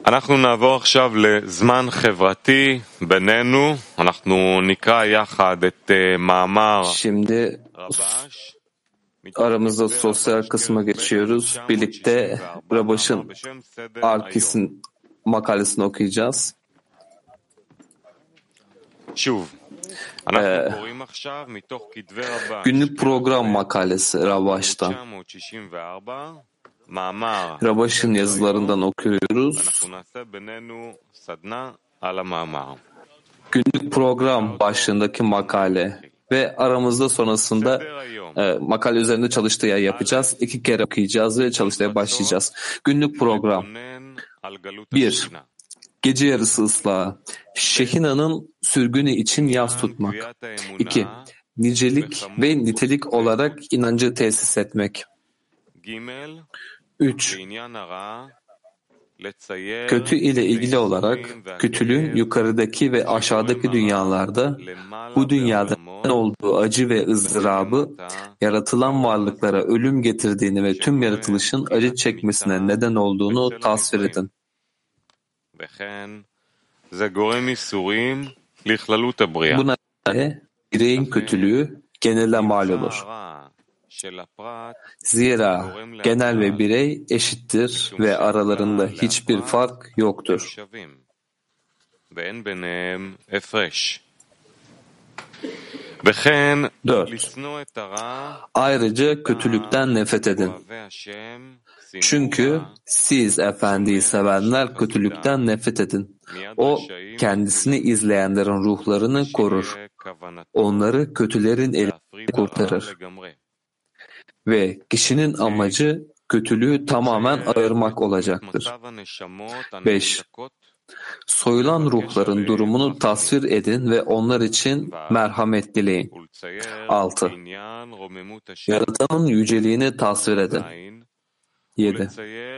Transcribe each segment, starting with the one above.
אנחנו נעבור עכשיו לזמן חברתי בינינו. אנחנו נקרא יחד את מאמר Şimdi רבש. aramızda sosyal kısma geçiyoruz. Birlikte Rabaş'ın Arkis'in makalesini okuyacağız. שוב, אנחנו קוראים עכשיו מתוך כתבי רבש. Günlük program makalesi Rabaş'tan. 1964 מאמר. Rabaş'ın yazılarından okuyoruz. אנחנו נעשה בינינו סדנה על המאמר. Günlük program başlığındaki makale ve aramızda sonrasında makale üzerinde çalıştaya yapacağız. 2 kere okuyacağız ve çalıştaya başlayacağız. Günlük program. 1. Gece yarısı ıslahı. Şehina'nın sürgünü için yas tutmak. 2. Nicelik ve nitelik olarak inancı tesis etmek. 3. Kötü ile ilgili olarak kötülüğün yukarıdaki ve aşağıdaki dünyalarda bu dünyada neden olduğu acı ve ızdırabı yaratılan varlıklara ölüm getirdiğini ve tüm yaratılışın acı çekmesine neden olduğunu tasvir edin. Bu nedenle bireyin kötülüğü genele mal olur. Zira genel ve birey eşittir ve aralarında hiçbir fark yoktur. 4. Ayrıca kötülükten nefret edin. Çünkü siz Efendi'yi sevenler kötülükten nefret edin. O kendisini izleyenlerin ruhlarını korur. Onları kötülerin elinden kurtarır. Ve kişinin amacı kötülüğü tamamen ayırmak olacaktır. 5. Soyulan ruhların durumunu tasvir edin ve onlar için merhamet dileyin. 6. Yaratanın yüceliğini tasvir edin. 7.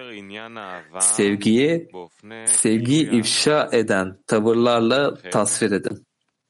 Sevgiyi ifşa eden tavırlarla tasvir edin.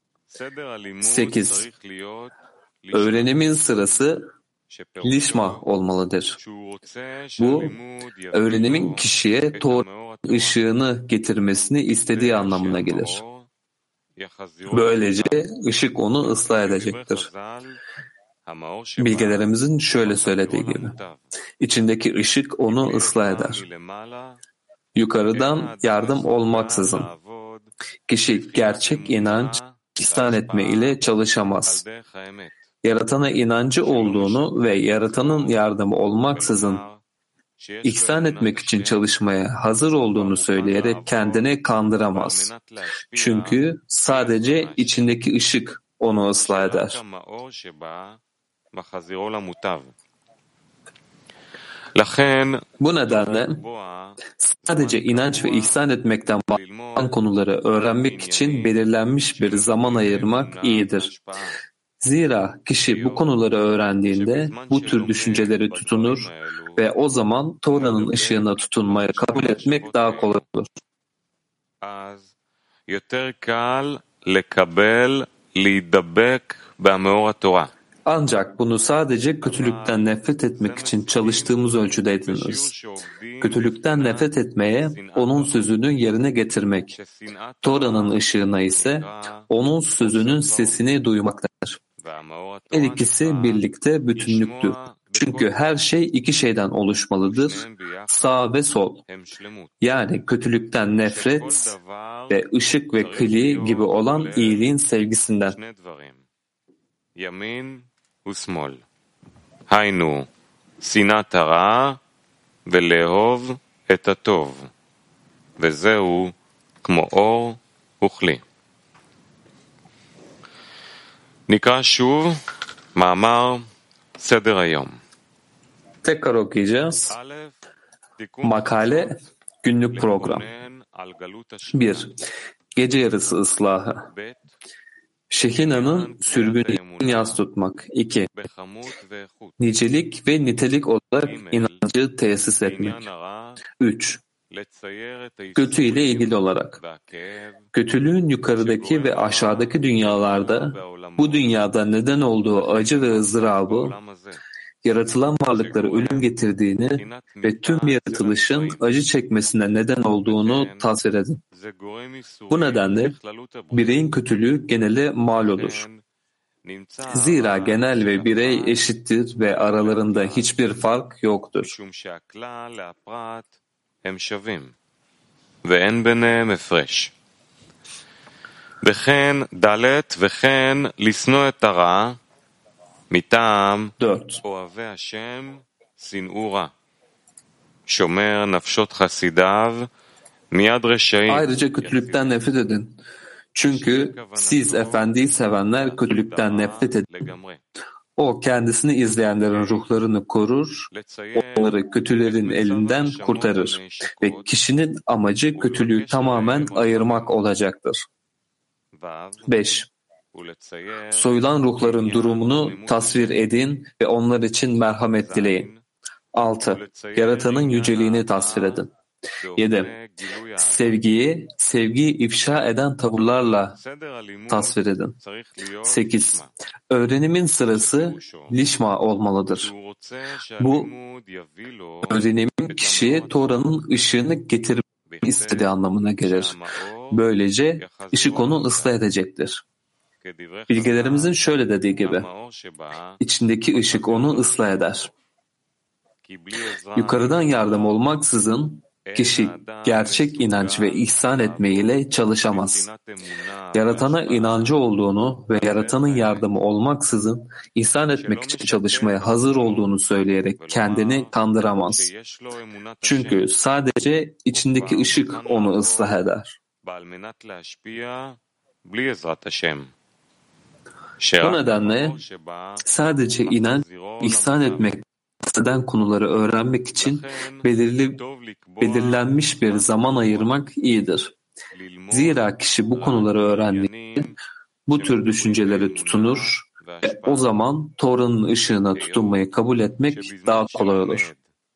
8. Öğrenimin sırası lişma olmalıdır. Bu, öğrenimin kişiye Tora'nın ışığını getirmesini istediği anlamına gelir. Böylece ışık onu ıslah edecektir. Bilgelerimizin şöyle söylediği gibi, içindeki ışık onu ıslah eder. Yukarıdan yardım olmaksızın, kişi gerçek inanç, ihsan etme ile çalışamaz. Yaratana inancı olduğunu ve yaratanın yardımı olmaksızın ihsan etmek için çalışmaya hazır olduğunu söyleyerek kendini kandıramaz. Çünkü sadece içindeki ışık onu ıslah eder. Bu nedenle sadece inanç ve ihsan etmekten bahseden konuları öğrenmek için belirlenmiş bir zaman ayırmak iyidir. Zira kişi bu konuları öğrendiğinde bu tür düşünceleri tutunur ve o zaman Tora'nın ışığına tutunmayı kabul etmek daha kolay olur. Ancak bunu sadece kötülükten nefret etmek için çalıştığımız ölçüde ediniriz. Kötülükten nefret etmeye onun sözünü yerine getirmek, Tora'nın ışığına ise onun sözünün sesini duymaktadır. Her ikisi birlikte bütünlüktür. Çünkü her şey 2 şeyden oluşmalıdır, sağ ve sol. Yani kötülükten nefret ve ışık ve kli gibi olan iyiliğin sevgisinden. היינו, שנאת הרע ולאהוב את הטוב, וזהו כמו אור וכלי. נקרא שוב מאמר סדר היום. Tekrar okuyacağız. Makale, günlük program. 1. Gece yarısı ıslahı. Şehina'nın sürgünü için yas tutmak. 2. Nicelik ve nitelik olarak inancı tesis etmek. 3. Kötü ile ilgili olarak. Kötülüğün yukarıdaki ve aşağıdaki dünyalarda bu dünyada neden olduğu acı ve ızdırabı yaratılan varlıklara ölüm getirdiğini ve tüm yaratılışın acı çekmesine neden olduğunu tasvir edin. Bu nedenle bireyin kötülüğü genele mal olur. Zira genel ve birey eşittir ve aralarında hiçbir fark yoktur. ואין ביניהם הפרש. וכן לשנוא את הרע מטעם 4. אוהבי השם שנאו רע. שומר נפשות חסידיו מיד רשעים. Ayrıca kötülükten nefret edin. Çünkü siz efendiyi sevenler kötülükten nefret edin. O kendisini izleyenlerin ruhlarını korur, onları kötülerin elinden kurtarır ve kişinin amacı kötülüğü tamamen ayırmak olacaktır. 5. Soyulan ruhların durumunu tasvir edin ve onlar için merhamet dileyin. 6. Yaratanın yüceliğini tasvir edin. 7. Sevgiyi ifşa eden tavırlarla tasvir edin. 8. Öğrenimin sırası lişma olmalıdır. Bu öğrenimin kişiye Tora'nın ışığını getirmek istediği anlamına gelir. Böylece ışık onu ıslah edecektir. Bilgelerimizin şöyle dediği gibi, içindeki ışık onu ıslah eder. Yukarıdan yardım olmaksızın kişi gerçek inanç ve ihsan etmeyle çalışamaz. Yaratana inancı olduğunu ve yaratanın yardımı olmaksızın ihsan etmek için çalışmaya hazır olduğunu söyleyerek kendini kandıramaz. Çünkü sadece içindeki ışık onu ıslah eder. Bu nedenle sadece inanç, ihsan etmek eden konuları öğrenmek için belirlenmiş bir zaman ayırmak iyidir. Zira kişi bu konuları öğrendiğinde bu tür düşüncelere tutunur ve o zaman Tora'nın ışığına tutunmayı kabul etmek daha kolay olur.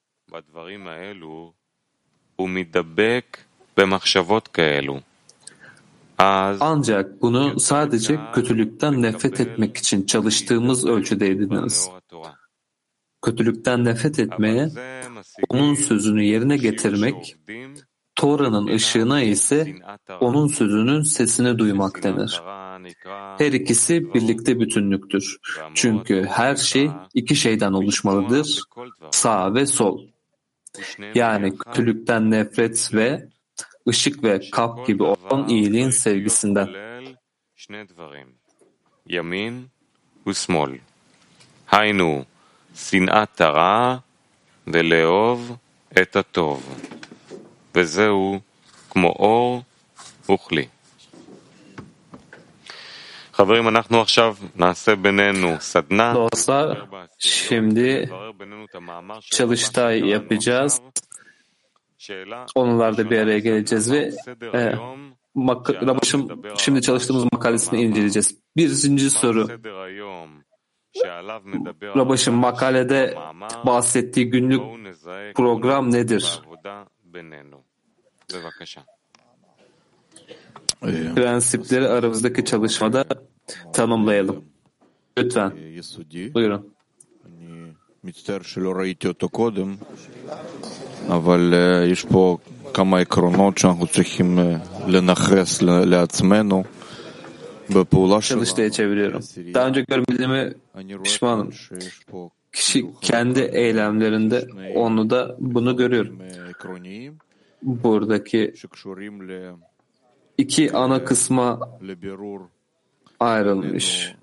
Ancak bunu sadece kötülükten nefret etmek için çalıştığımız ölçüde ediniriz. Kötülükten nefret etmeye, onun sözünü yerine getirmek, Tora'nın ışığına ise onun sözünün sesini duymak denir. Her ikisi birlikte bütünlüktür. Çünkü her şey iki şeyden oluşmalıdır, sağ ve sol. Yani kötülükten nefret ve ışık ve kap gibi olan iyiliğin sevgisinden. Yamin ve smol. Haynu שנאת הרע ולאהוב את הטוב, וזהו כמו אור וכלי. חברים, אנחנו עכשיו נעשה בינינו סדנה. Dostlar, şimdi çalıştay yapacağız. Onlarla bir araya geleceğiz ve Rabaş'ın şimdi çalıştığımız makalesini inceleyeceğiz. Birinci soru. Rabaş'ın makalede bahsettiği günlük program nedir? Prensipleri aramızdaki çalışmada tanımlayalım. Lütfen. Buyurun. מצטער שלא ראיתי אותו קודם, אבל יש פה כמה עקרונות שאנחנו צריכים לנכס לעצמנו בפעולה שלנו. Çalıştaya çeviriyorum. Daha önce görmediğime pişmanım. Kişi kendi eylemlerinde onu da bunu görüyorum. Buradaki iki ana kısma ayrılmış.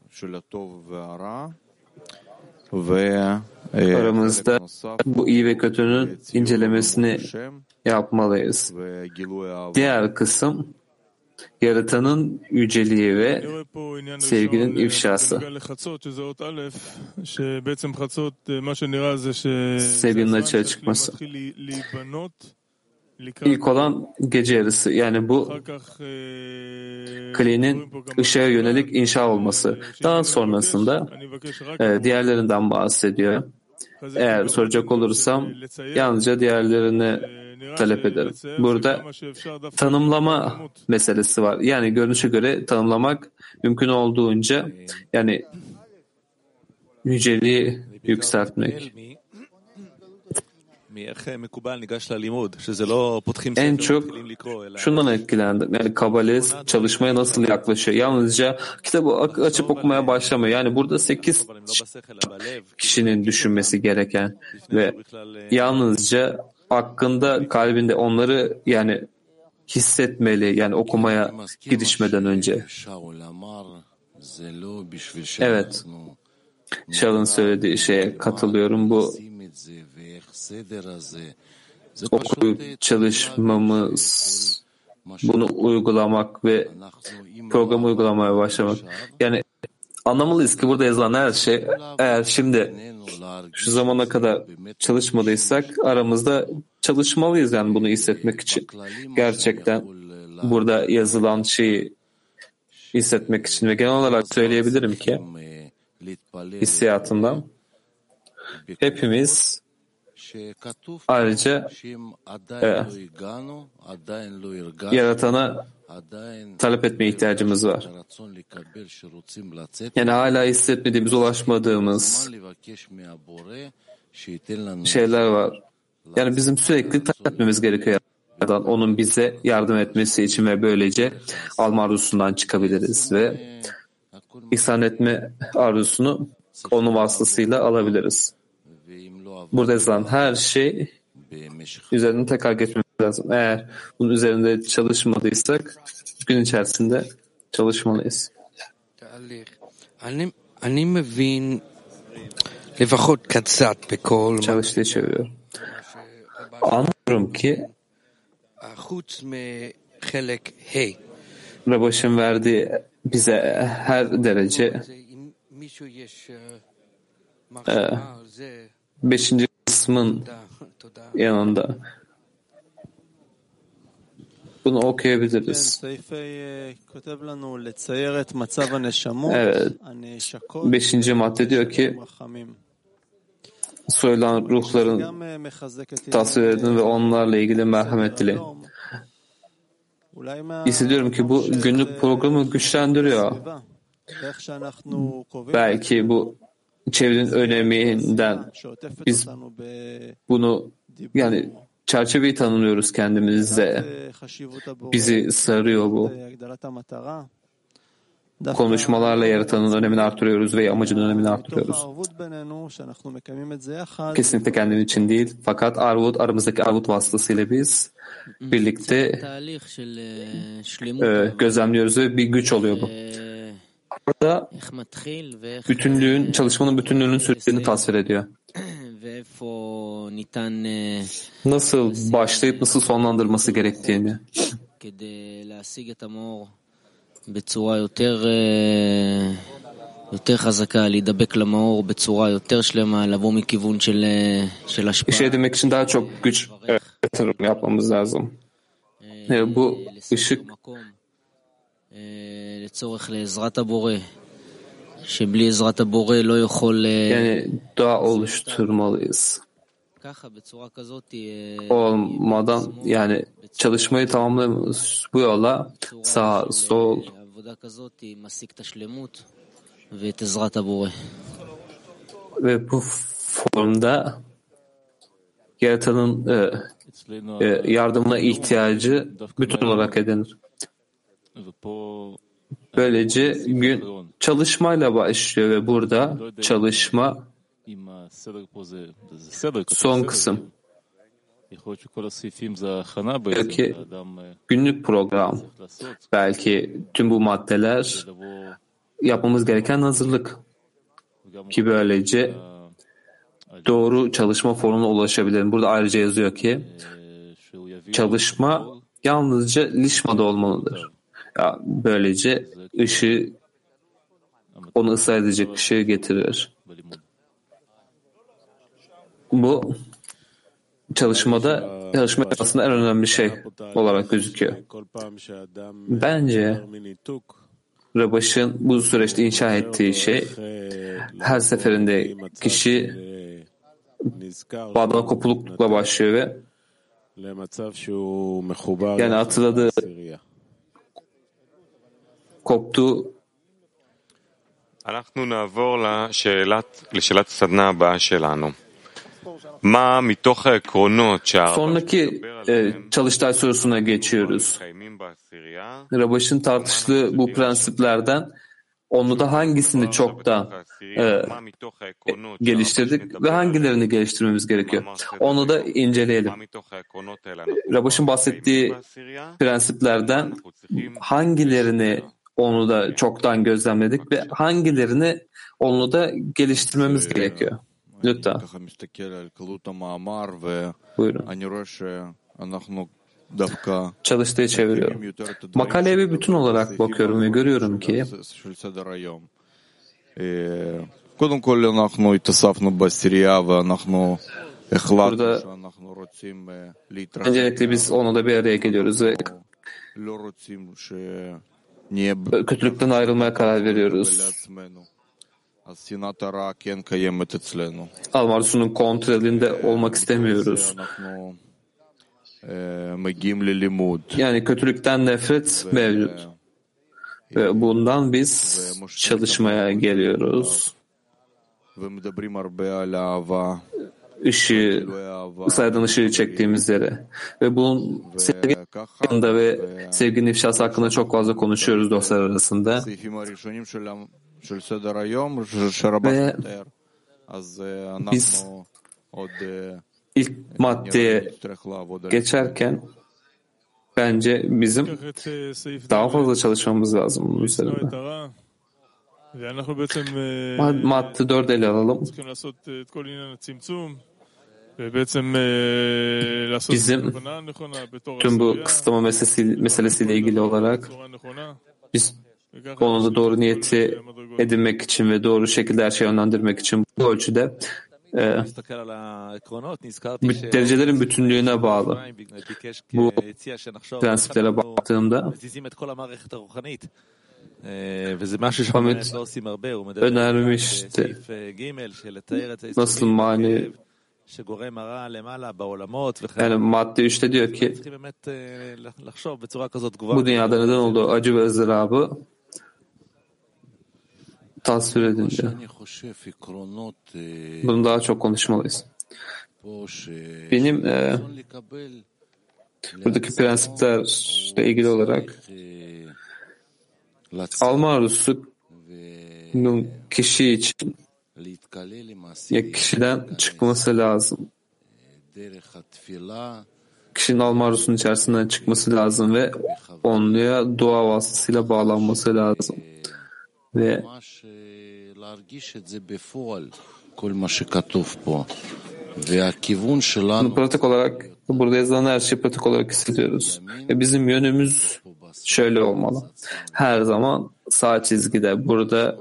Aramızda bu iyi ve kötünün incelemesini yapmalıyız. Diğer kısım yaratanın yüceliği ve sevginin ifşası. Sevginin açığa çıkması. İlk olan gece yarısı, yani bu Kli'nin ışığa yönelik inşa olması. Daha sonrasında diğerlerinden bahsediyor. Eğer soracak olursam yalnızca diğerlerini talep ederim. Burada tanımlama meselesi var. Yani görünüşe göre tanımlamak mümkün olduğunca, yani yüceliği yükseltmek. En çok şundan etkilendim. Yani kabalist çalışmaya nasıl yaklaşıyor? Yalnızca kitabı açıp okumaya başlamıyor. Yani burada 8 kişinin düşünmesi gereken ve yalnızca hakkında kalbinde onları yani hissetmeli. Yani okumaya girişmeden önce. Evet. Shall'ın söylediği şeye katılıyorum. Bu okuyup çalışmamız, bunu uygulamak ve programı uygulamaya başlamak. Yani anlamalıyız ki burada yazılan her şey, eğer şimdi şu zamana kadar çalışmadıysak aramızda çalışmalıyız yani bunu hissetmek için. Gerçekten burada yazılan şeyi hissetmek için ve genel olarak söyleyebilirim ki hissiyatımdan hepimiz ayrıca Yaratan'a talep etmeye ihtiyacımız var. Yani hala hissetmediğimiz, ulaşmadığımız şeyler var. Yani bizim sürekli talep etmemiz gerekiyor. Onun bize yardım etmesi için ve böylece alma arzusundan çıkabiliriz ve ihsan etme arzusunu onun vasıtasıyla alabiliriz. Burada yazılan her şey üzerine tekrar geçmemiz lazım. Eğer bunun üzerinde çalışmadıysak gün içerisinde çalışmalıyız. Çalıştığı çeviriyor. Anlıyorum ki Rabaş'ın verdiği bize her derece 5. kısmın yanında bunu okuyabiliriz. Evet. 5. madde diyor ki soyulan ruhların tasvir edin ve onlarla ilgili merhamet dileyin. Hissediyorum ki bu günlük programı güçlendiriyor. Belki bu çevrenin öneminden biz bunu yani çerçeveyi tanımlıyoruz kendimizde. Bizi sarıyor bu. Konuşmalarla yaratanın önemini artırıyoruz ve amacının önemini artırıyoruz. Kesinlikle kendim için değil. Fakat aramızdaki arvut vasıtasıyla biz birlikte gözlemliyoruz ve bir güç oluyor bu. Burada çalışmanın bütünlüğünün sürecini tasvir ediyor. Nasıl başlayıp nasıl sonlandırması gerektiğini. בצורה יותר חזקה, להידבק למאור בצורה יותר שלמה, לבוא מכיוון של השפעה. İşe edinmek için daha çok güç yatırım yapmamız lazım. Bu ışık לצורך לעזרת הבורא, שבלי עזרת הבורא לא יכול yani dua oluşturmalıyız. Olmadan yani çalışmayı tamamlamamız bu yola sağ, sol ve bu formda Yaratan'ın yardımına ihtiyacı bütün olarak edinir. Böylece gün çalışmayla başlıyor ve burada çalışma son kısım. Belki günlük program, belki tüm bu maddeler yapmamız gereken hazırlık ki böylece doğru çalışma formuna ulaşabilirim. Burada ayrıca yazıyor ki çalışma yalnızca lişmada olmalıdır. Ya, böylece ışığı onu ıslah edecek ışığı getirir. Bu çalışma aslında en önemli şey olarak gözüküyor. Bence Rabaş'ın bu süreçte inşa ettiği şey her seferinde kişi bağdan kopulukla başlıyor ve yani hatırladığı koptuğu אנחנו נעבור לשאלת הסדנה הבאה שלנו. מה מתוך העקרונות שהרב Sonraki מדבר עליהם çalıştay sorusuna geçiyoruz. מקיימים בעשירייה? Rabaş'ın tartıştığı bu prensiplerden Onlu'da hangisini çok da מה מתוך העקרונות geliştirdik ve hangilerini geliştirmemiz gerekiyor? Onu da inceleyelim. מה מתוך העקרונות האלה אנחנו Rabaş'ın bahsettiği בעשירייה? prensiplerden hangilerini Onlu'da çoktan gözlemledik ve hangilerini Onlu'da geliştirmemiz gerekiyor? Lütfen. ככה מסתכל על קלות המאמר Buyurun. ואני רואה שאנחנו דווקא Çalıştığı çeviriyorum. Makaleye bir bütün olarak bakıyorum ve görüyorum ki של סדר היום. קודם כל אנחנו התאספנו בעשירייה ואנחנו החלטנו שאנחנו רוצים להתרחב. öncelikle biz Onlu'da bir araya geliyoruz ve לא רוצים שנהיה kötülükten ayrılmaya karar veriyoruz. לעצמנו. אז שנאת הרע כן קיימת אצלנו. Almarsu'nun kontrolünde olmak istemiyoruz. אנחנו מגיעים ללימוד. Yani kötülükten nefret mevcut. Ve bundan biz çalışmaya geliyoruz. ומדברים הרבה על אהבה. Işığı, saydığın ışığı çektiğimiz yere. Ve bunun sevgi hakkında ve sevginin ifşası hakkında çok fazla konuşuyoruz dostlar arasında. הסעיפים הראשונים של סדר היום שרבן מתאר. אז biz אנחנו עוד ilk maddeye נצטרך לעבוד על geçerken bence bizim daha fazla çalışmamız lazım bunun üzerinde. Madde 4 ele alalım. Bizim tüm bu kısıtlama meselesiyle ilgili olarak biz konuda doğru niyeti edinmek için ve doğru şekilde her şeyi yönlendirmek için bu ölçüde derecelerin bütünlüğüne bağlı. Bu prensiplere baktığımda Hamid önermişti. Nasıl mani? Yani madde 3'te diyor ki bu dünyada neden olduğu acı ve ızdırabı tasvir edin diyor. Bunu daha çok konuşmalıyız. Benim buradaki prensiplerle ilgili olarak alma arzusunun kişi için ya kişiden çıkması lazım. Kişinin alma arzusunun içerisinden çıkması lazım ve onluya dua vasıtasıyla bağlanması lazım. Ve bunu pratik olarak burada yazılan her şeyi pratik olarak hissediyoruz. Ve bizim yönümüz şöyle olmalı. Her zaman sağ çizgide burada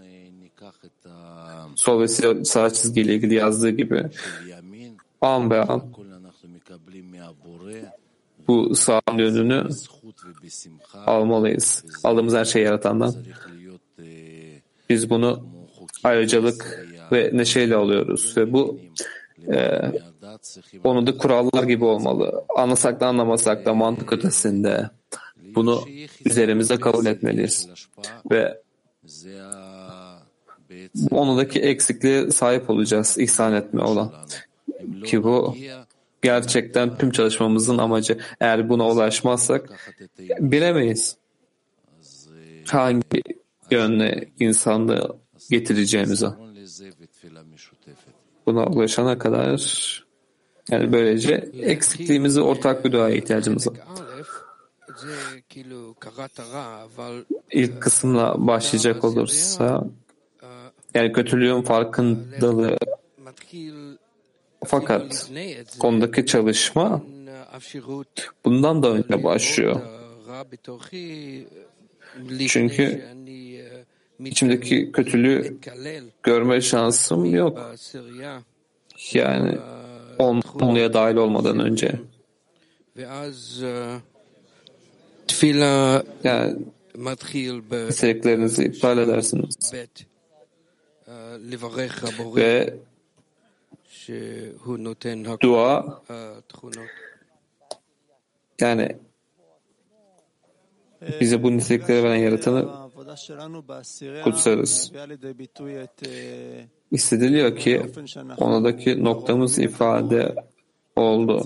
sol ve sağ çizgiyle ilgili yazdığı gibi an be an bu sağ yönünü almalıyız. Aldığımız her şeyi yaratandan. Biz bunu ayrıcalık ve neşeyle alıyoruz ve bu onu da kurallar gibi olmalı. Anlasak da anlamasak da mantık ötesinde bunu üzerimize kabul etmeliyiz. Ve onundaki eksikliğe sahip olacağız, ihsan etme olan. Ki bu gerçekten tüm çalışmamızın amacı. Eğer buna ulaşmazsak bilemeyiz hangi yönle insanlığı getireceğimizi. Buna ulaşana kadar yani böylece eksikliğimizi ortak bir duaya ihtiyacımız var. İlk kısımla başlayacak olursa yani kötülüğün farkındalığı fakat konudaki çalışma bundan da önce başlıyor. Çünkü içimdeki kötülüğü görme şansım yok. Yani onluya dahil olmadan önce. Yani isteklerinizi iptal edersiniz. Ve dua yani bize bu nitelikleri veren yaratanı kutsarız. Hissediliyor ki onadaki noktamız ifade oldu.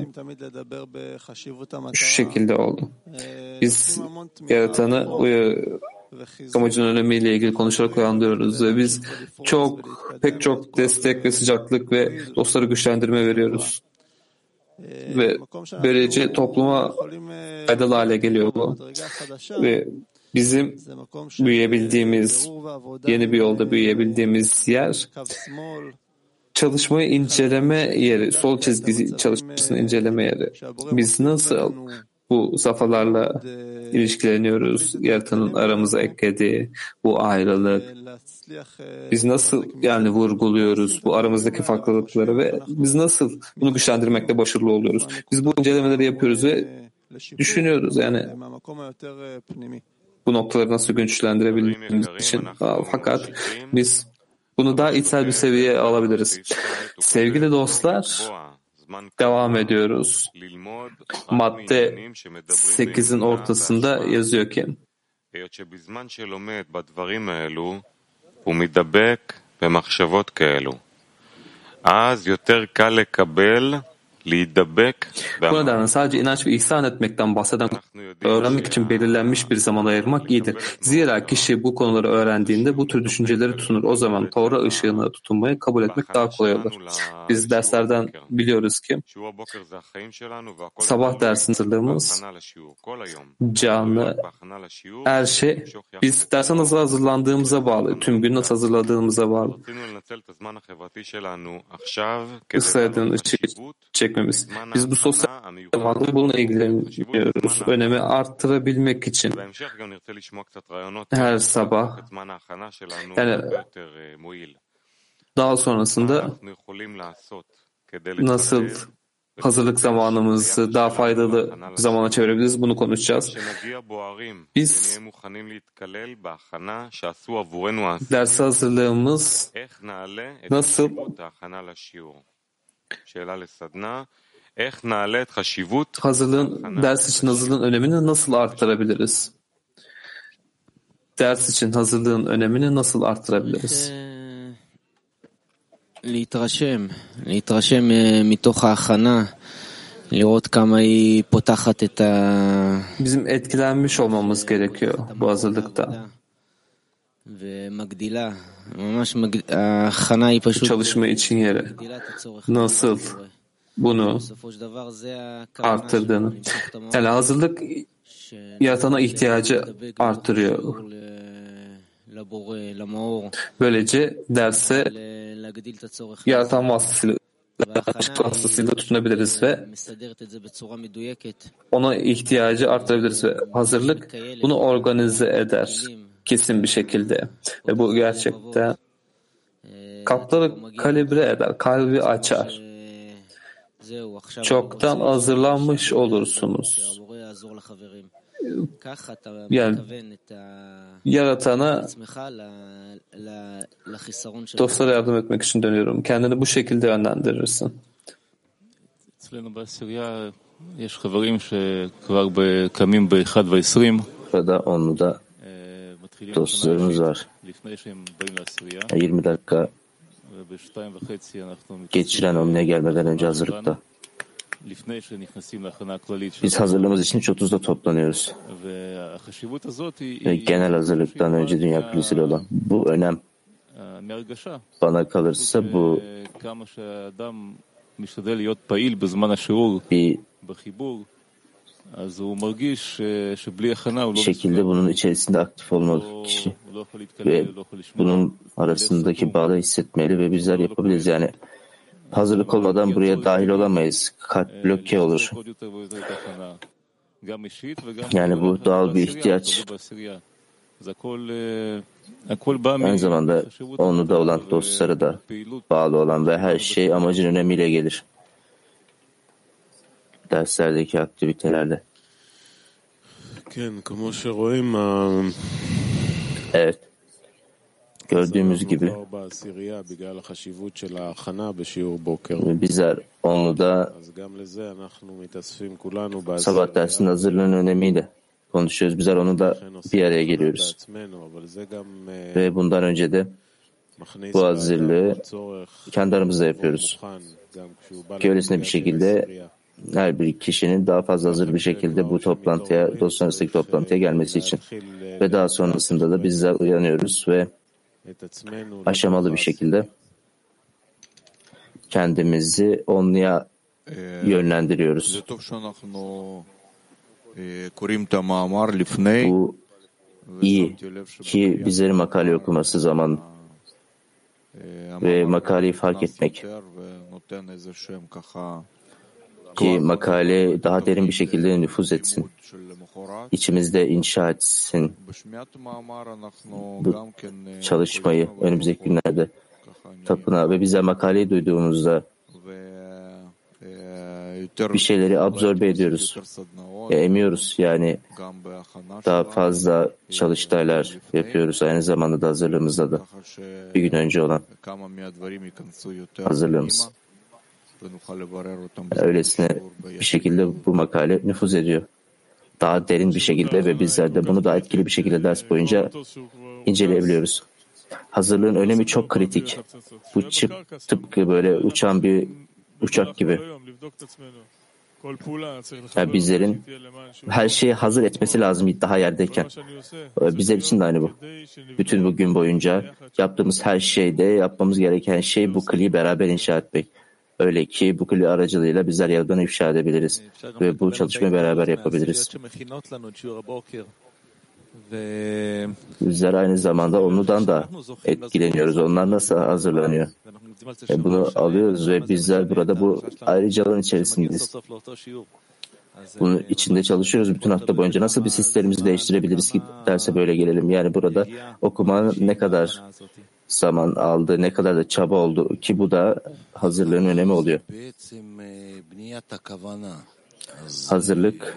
Şu şekilde oldu. Biz yaratanı amacın önemiyle ilgili konuşarak uyandırıyoruz ve biz pek çok destek ve sıcaklık ve dostları güçlendirme veriyoruz. Ve böylece topluma faydalı hale geliyor bu. Ve bizim büyüyebildiğimiz, yeni bir yolda büyüyebildiğimiz yer, çalışmayı inceleme yeri, sol çizgi çalışmasını inceleme yeri. Biz nasıl bu safhalarla ilişkileniyoruz, yaratanın aramıza eklediği bu ayrılık, biz nasıl yani vurguluyoruz bu aramızdaki farklılıkları ve biz nasıl bunu güçlendirmekte başarılı oluyoruz. Biz bu incelemeleri yapıyoruz ve düşünüyoruz yani bu noktaları nasıl güçlendirebildiğimiz için. Fakat biz bunu daha içsel bir seviyeye alabiliriz. Sevgili dostlar, devam ediyoruz. Madde 8'in ortasında yazıyor ki bu nedenle sadece inanç ve ihsan etmekten bahseden öğrenmek için belirlenmiş bir zaman ayırmak iyidir. Zira kişi bu konuları öğrendiğinde bu tür düşünceleri tutunur. O zaman Torah ışığına tutunmayı kabul etmek daha kolay olur. Biz derslerden biliyoruz ki sabah dersin hazırlığımız canlı, her şey biz derse nasıl hazırlandığımıza bağlı, tüm gün nasıl hazırladığımıza bağlı. Isra'nın ışığı çekmemiz. Biz bu sosyal zamanında bununla ilgileniyoruz. Önemi arttırabilmek için her sabah yani daha sonrasında nasıl hazırlık zamanımızı daha faydalı zamana çevirebiliriz bunu konuşacağız. Biz ders hazırlığımız nasıl ders için hazırlığın önemini nasıl arttırabiliriz? Ders için hazırlığın önemini nasıl arttırabiliriz? להתרשם מתוך ההכנה, לראות כמה היא פותחת את Bizim etkilenmiş olmamız gerekiyor bu hazırlıkta. ומגדילה, ממש ההכנה היא פשוט Çalışma için yere nasıl bunu arttırdığını. Yani hazırlık yaratana ihtiyacı arttırıyor. Böylece derse yaratan vasıtasıyla tutunabiliriz ve ona ihtiyacı arttırabiliriz ve hazırlık bunu organize eder kesin bir şekilde. Ve bu gerçekten kapları kalibre eder, kalbi açar. Çoktan hazırlanmış olursunuz. Yani yaratana dostlara yardım etmek için dönüyorum. Kendini bu şekilde yönlendirirsin. Burada onluda dostlarımız var. 20 dakika geçiren onluya gelmeden önce hazırlıkta. Biz hazırlığımız için 30'da toplanıyoruz. Ve genel hazırlıktan önce Dünya Kulisi'yle olan bu önem bana kalırsa bu bir şekilde bunun içerisinde aktif olmalı kişi ve bunun arasındaki bağı hissetmeli ve bizler yapabiliriz. Yani hazırlık olmadan buraya dahil olamayız. Kalp bloke olur. Yani bu doğal bir ihtiyaç. Aynı zamanda onu da olan dostlara da bağlı olan ve her şey amacın önemiyle gelir. Derslerdeki aktivitelerde. Evet. Gördüğümüz gibi bizler onu da sabah dersinin hazırlığının önemiyle konuşuyoruz. Bizler onu da bir araya geliyoruz. Ve bundan önce de bu hazırlığı kendi aramızda yapıyoruz. Ki öylesine bir şekilde her bir kişinin daha fazla hazır bir şekilde bu toplantıya, dostlar arasındaki toplantıya gelmesi için. Ve daha sonrasında da bizler uyanıyoruz ve aşamalı bir şekilde kendimizi onluya yönlendiriyoruz. Bu iyi ki bizlerin makale okuması zaman ve makaleyi fark etmek ki makale daha derin bir şekilde nüfuz etsin, içimizde inşa etsin bu çalışmayı önümüzdeki günlerde tapınağı ve bize makaleyi duyduğumuzda bir şeyleri absorbe ediyoruz, emiyoruz. Yani daha fazla çalıştaylar yapıyoruz. Aynı zamanda da hazırlığımızda da bir gün önce olan hazırlığımız. Öylesine bir şekilde bu makale nüfuz ediyor. Daha derin bir şekilde ve bizler de bunu daha etkili bir şekilde ders boyunca inceleyebiliyoruz. Hazırlığın önemi çok kritik. Bu tıpkı böyle uçan bir uçak gibi. Yani bizlerin her şeyi hazır etmesi lazım daha yerdeyken. Bizler için de aynı bu. Bütün bu gün boyunca yaptığımız her şeyde yapmamız gereken şey bu kliyi beraber inşa etmek. Öyle ki bu kli aracılığıyla bizler yerden ifşa edebiliriz ve bu çalışmayı beraber yapabiliriz. Bizler aynı zamanda ondan da etkileniyoruz. Onlar nasıl hazırlanıyor? Bunu alıyoruz ve bizler burada bu ayrıcalığın içerisindeyiz. Bunun içinde çalışıyoruz bütün hafta boyunca. Nasıl bir sistemimizi değiştirebiliriz ki derse böyle gelelim? Yani burada okumanın ne kadar zaman aldı, ne kadar da çaba oldu ki bu da hazırlığın önemi oluyor. Hazırlık,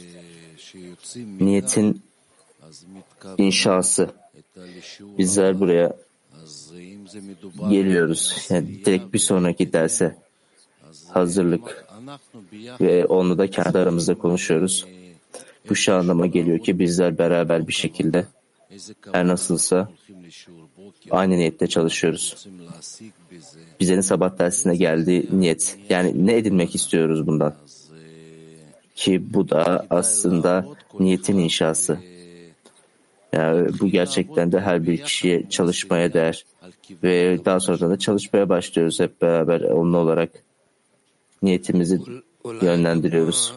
niyetin inşası. Bizler buraya geliyoruz. Yani direkt bir sonraki derse hazırlık ve onu da kendi aramızda konuşuyoruz. Bu şu anlama geliyor ki bizler beraber bir şekilde her nasılsa aynı niyette çalışıyoruz. Bizlerin sabah dersine geldiği niyet. Yani ne edinmek istiyoruz bundan? Ki bu da aslında niyetin inşası. Yani bu gerçekten de her bir kişiye çalışmaya değer. Ve daha sonra da çalışmaya başlıyoruz hep beraber onunla olarak. Niyetimizi yönlendiriyoruz.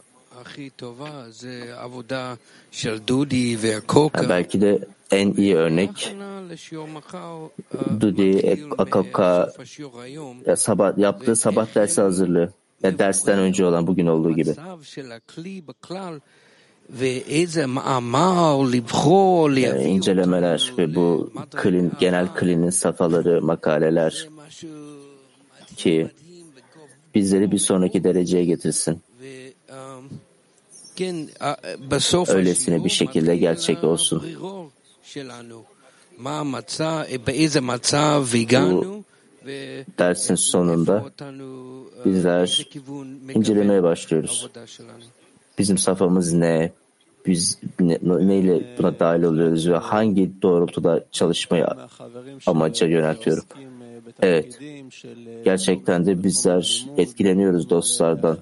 Belki de en iyi örnek Dudi Akaka yaptığı sabah dersi hazırlığı. Dersten önce olan bugün olduğu gibi. Yani incelemeler ve bu genel klinin safhaları, makaleler ki bizleri bir sonraki dereceye getirsin. Öylesine bir şekilde gerçek olsun. Bu dersin sonunda bizler incelemeye başlıyoruz. Bizim safhamız ne? Biz neyle buna dahil oluyoruz ve hangi doğrultuda çalışmayı amaca yöneltiyorum? Evet, gerçekten de bizler etkileniyoruz dostlardan.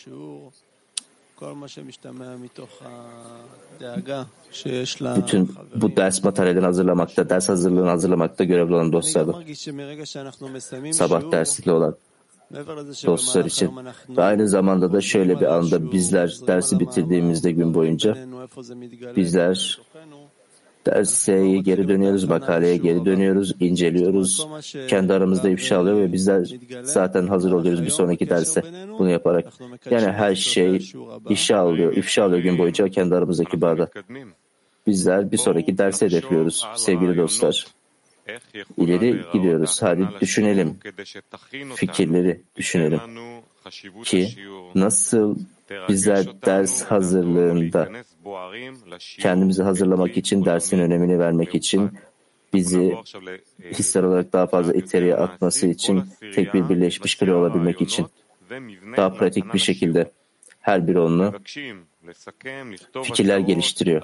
Bütün bu ders materyalini hazırlamakta, ders hazırlığını hazırlamakta görevli olan dostlardan. Sabah dersinde olan dostlar için. Ve aynı zamanda da şöyle bir anda bizler dersi bitirdiğimizde gün boyunca bizler derse geri dönüyoruz, makaleye geri dönüyoruz, inceliyoruz. Kendi aramızda ifşa alıyor ve bizler zaten hazır oluyoruz bir sonraki derse bunu yaparak. Yani her şey ifşa alıyor gün boyunca kendi aramızdaki bağda. Bizler bir sonraki derse hedefliyoruz sevgili dostlar. İleri gidiyoruz. Hadi düşünelim. Fikirleri düşünelim. Ki nasıl bizler ders hazırlığında kendimizi hazırlamak için, dersin önemini vermek için, bizi hissel olarak daha fazla içeriye atması için, tek bir birleşmiş kli olabilmek için, daha pratik bir şekilde her bir onu fikirler geliştiriyor.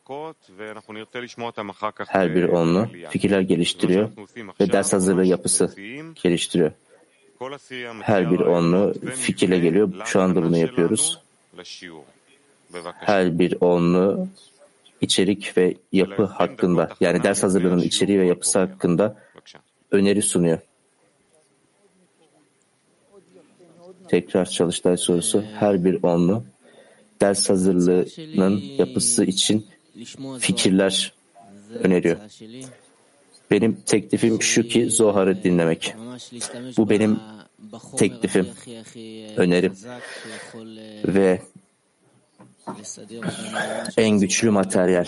Her bir onlu fikirler geliştiriyor ve ders hazırlığı yapısı geliştiriyor. Her bir onlu fikirle geliyor. Şu anda bunu yapıyoruz. Her bir onlu içerik ve yapı hakkında, yani ders hazırlığının içeriği ve yapısı hakkında öneri sunuyor. Tekrar çalıştay sorusu. Her bir onlu ders hazırlığının yapısı için fikirler öneriyor. Benim teklifim şu ki Zohar'ı dinlemek. Bu benim teklifim, önerim ve en güçlü materyal.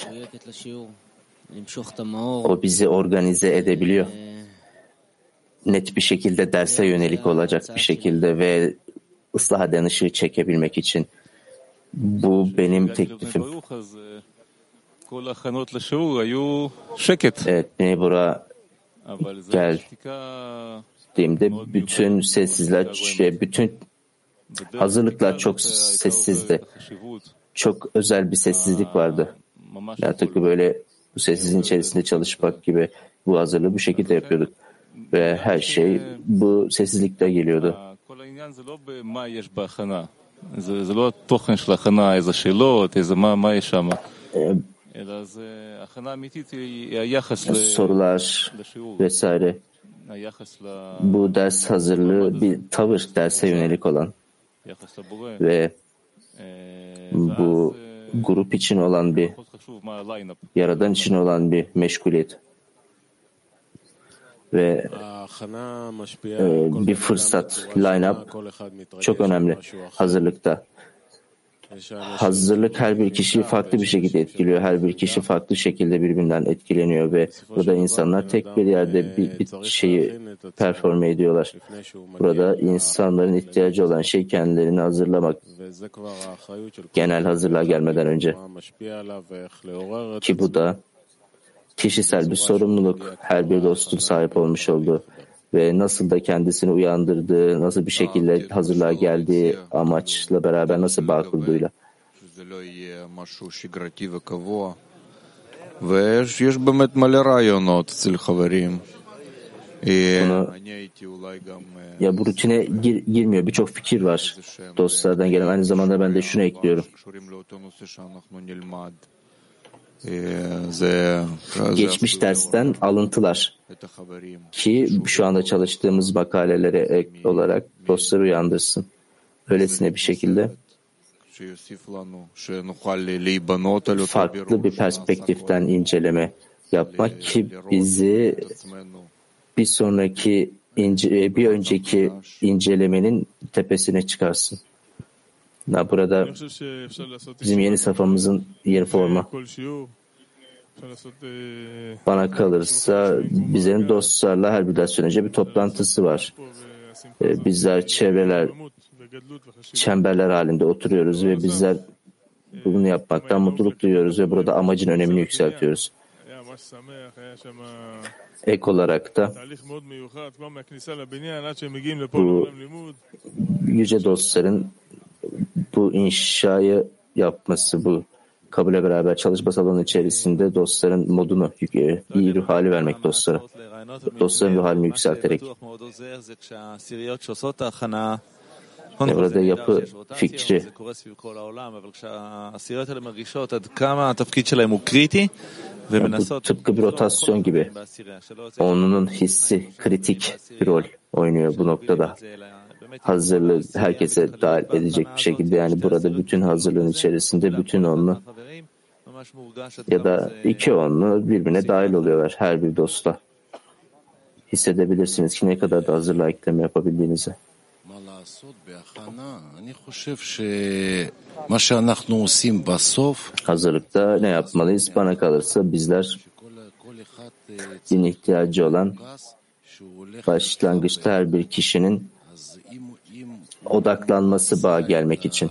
O bizi organize edebiliyor. Net bir şekilde derse yönelik olacak bir şekilde ve ıslah eden ışığı çekebilmek için. Bu benim teklifim. Evet, beni buraya geldiğimde bütün sessizler, bütün hazırlıklar çok sessizdi. Çok özel bir sessizlik vardı. Yani tıpkı böyle bu sessizliğin içerisinde çalışmak gibi bu hazırlığı bu şekilde yapıyorduk. Ve her şey bu sessizlikte geliyordu. Sorular vesaire. Bu ders hazırlığı bir tavır, derse yönelik olan ve bu grup için olan bir, Yaradan için olan bir meşguliyet ve bir fırsat, line-up çok önemli hazırlıkta. Hazırlık her bir kişiyi farklı bir şekilde etkiliyor. Her bir kişi farklı şekilde birbirinden etkileniyor ve burada insanlar tek bir yerde bir şeyi performe ediyorlar. Burada insanların ihtiyacı olan şey kendilerini hazırlamak. Genel hazırlığa gelmeden önce. Ki bu da kişisel bir sorumluluk. Her bir dostun sahip olmuş olduğu ve nasıl da kendisini uyandırdığı, nasıl bir şekilde hazırlığa geldiği amaçla beraber nasıl bağ kurduğuyla. Ya bu rutine girmiyor. Birçok fikir var dostlardan gelen. Aynı zamanda ben de şunu ekliyorum. Geçmiş dersten alıntılar ki şu anda çalıştığımız makalelere ek olarak dostları uyandırsın. Öylesine bir şekilde farklı bir perspektiften inceleme yapmak ki bizi bir önceki incelemenin tepesine çıkarsın. Burada bizim yeni safhamızın yeni forma. Bana kalırsa bizlerin dostlarla her bir ders önce bir toplantısı var. Bizler çemberler halinde oturuyoruz ve bizler bunu yapmaktan mutluluk duyuyoruz ve burada amacın önemini yükseltiyoruz. Ek olarak da bu yüce dostların bu inşayı yapması, bu kabule beraber çalışma salonu içerisinde dostların modunu, iyi ruh hali vermek dostlara. Dostların ruh halini yükselterek. Burada yapı fikri. Bu tıpkı bir rotasyon gibi. Onun hissi kritik bir rol oynuyor bu noktada. Hazırlığı herkese dahil edecek bir şekilde, yani burada bütün hazırlığın içerisinde bütün onlu ya da iki onlu birbirine dahil oluyorlar her bir dostla. Hissedebilirsiniz ki ne kadar da hazırlığa ekleme yapabildiğinizi. Hazırlıkta ne yapmalıyız? Bana kalırsa bizler din ihtiyacı olan başlangıçta her bir kişinin odaklanması bağa gelmek için.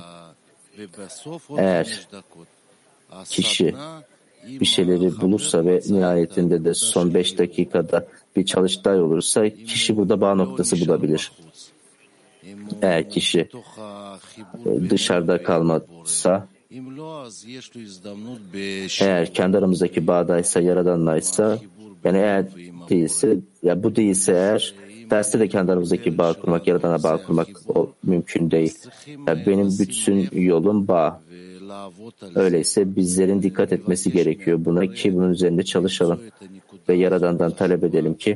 Eğer kişi bir şeyleri bulursa ve nihayetinde de son 5 dakikada bir çalıştay olursa kişi burada bağ noktası bulabilir. Eğer kişi dışarıda kalmazsa Eğer kendi aramızdaki bağdaysa, Yaradan'laysa, yani eğer değilse, ya bu değilse eğer, derste de kendi aramızdaki bağ kurmak, Yaradan'a bağ kurmak o mümkün değil. Yani benim bütün yolum bağ. Öyleyse bizlerin dikkat etmesi gerekiyor buna ki bunun üzerinde çalışalım ve Yaradan'dan talep edelim ki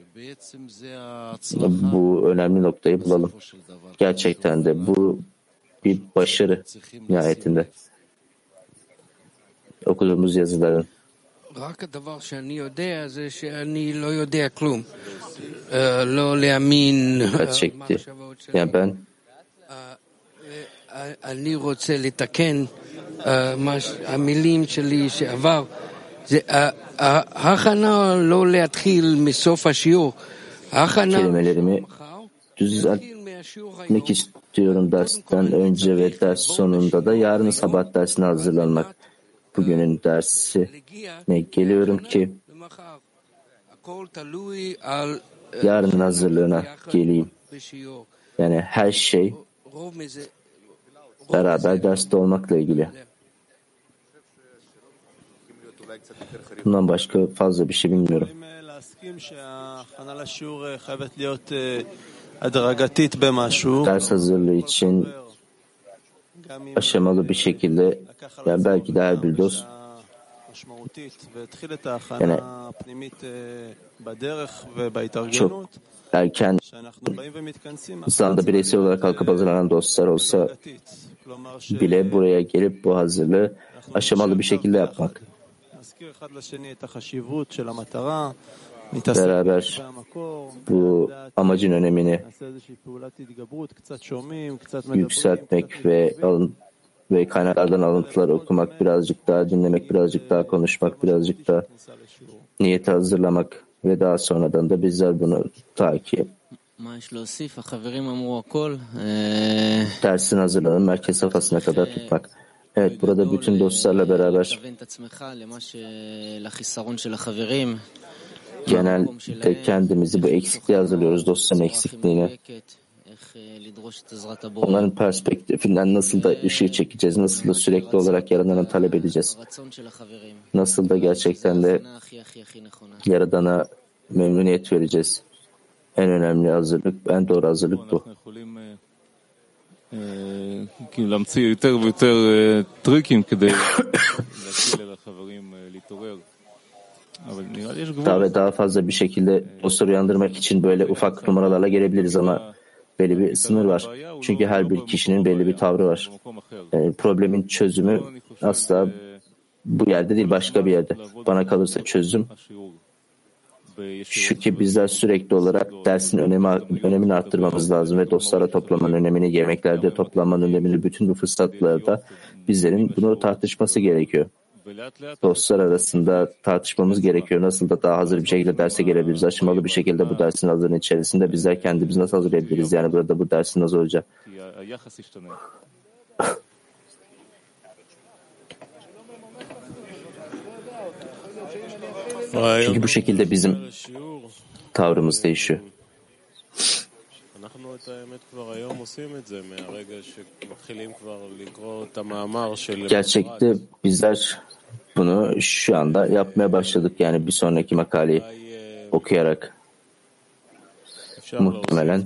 bu önemli noktayı bulalım. Gerçekten de bu bir başarı nihayetinde. Okuduğumuz yazıların. רק הדבר שאני יודע זה שאני לא יודע כלום. לא להאמין Çekti. Yani ben אני רוצה לתקן המילים שלי שעבר. זה ההכנה לא להתחיל מסוף השיעור. ההכנה kelimelerimi düzeltmek istiyorum dersten önce ve ders sonunda da yarın sabah dersine hazırlanmak. Bugünün dersine geliyorum ki yarının hazırlığına geleyim. Yani her şey beraber derste olmakla ilgili. Bundan başka fazla bir şey bilmiyorum. Ders hazırlığı için aşamalı bir şekilde, yani belki de her bir dost yani çok erken zamanda bireysel olarak kalkıp hazırlanan dostlar olsa bile buraya gelip bu hazırlığı aşamalı bir şekilde yapmak. Beraber bu amacın önemini yükseltmek ve kaynaklardan alıntılar okumak, birazcık daha dinlemek, birazcık daha konuşmak, birazcık daha niyeti hazırlamak ve daha sonradan da bizler bunu takip dersin hazırlanın merkez safhasına kadar tutmak. Evet, burada bütün dostlarla beraber genelde kendimizi bu eksikliğe hazırlıyoruz, dostların eksikliğine. Onların perspektifinden nasıl da ışığı çekeceğiz, nasıl da sürekli olarak Yaradan'a talep edeceğiz, nasıl da gerçekten de Yaradan'a memnuniyet vereceğiz. En önemli hazırlık, en doğru hazırlık bu. Daha ve daha fazla bir şekilde dostları uyandırmak için böyle ufak numaralarla gelebiliriz ama belli bir sınır var. Çünkü her bir kişinin belli bir tavrı var. Yani problemin çözümü asla bu yerde değil, başka bir yerde. Bana kalırsa çözüm şu ki bizler sürekli olarak dersin önemini arttırmamız lazım ve dostlarla toplamanın önemini, yemeklerde toplanmanın önemini, bütün bu fırsatlarda bizlerin bunu tartışması gerekiyor. Dostlar arasında tartışmamız gerekiyor. Nasıl da daha hazır bir şekilde derse gelebiliriz. Aşamalı bir şekilde bu dersin hazırlığının içerisinde bizler kendimizi nasıl hazırlayabiliriz? Yani burada bu dersin nasıl olacak? Çünkü bu şekilde bizim tavrımız değişiyor. Gerçekte bizler bunu şu anda yapmaya başladık. Yani bir sonraki makaleyi okuyarak muhtemelen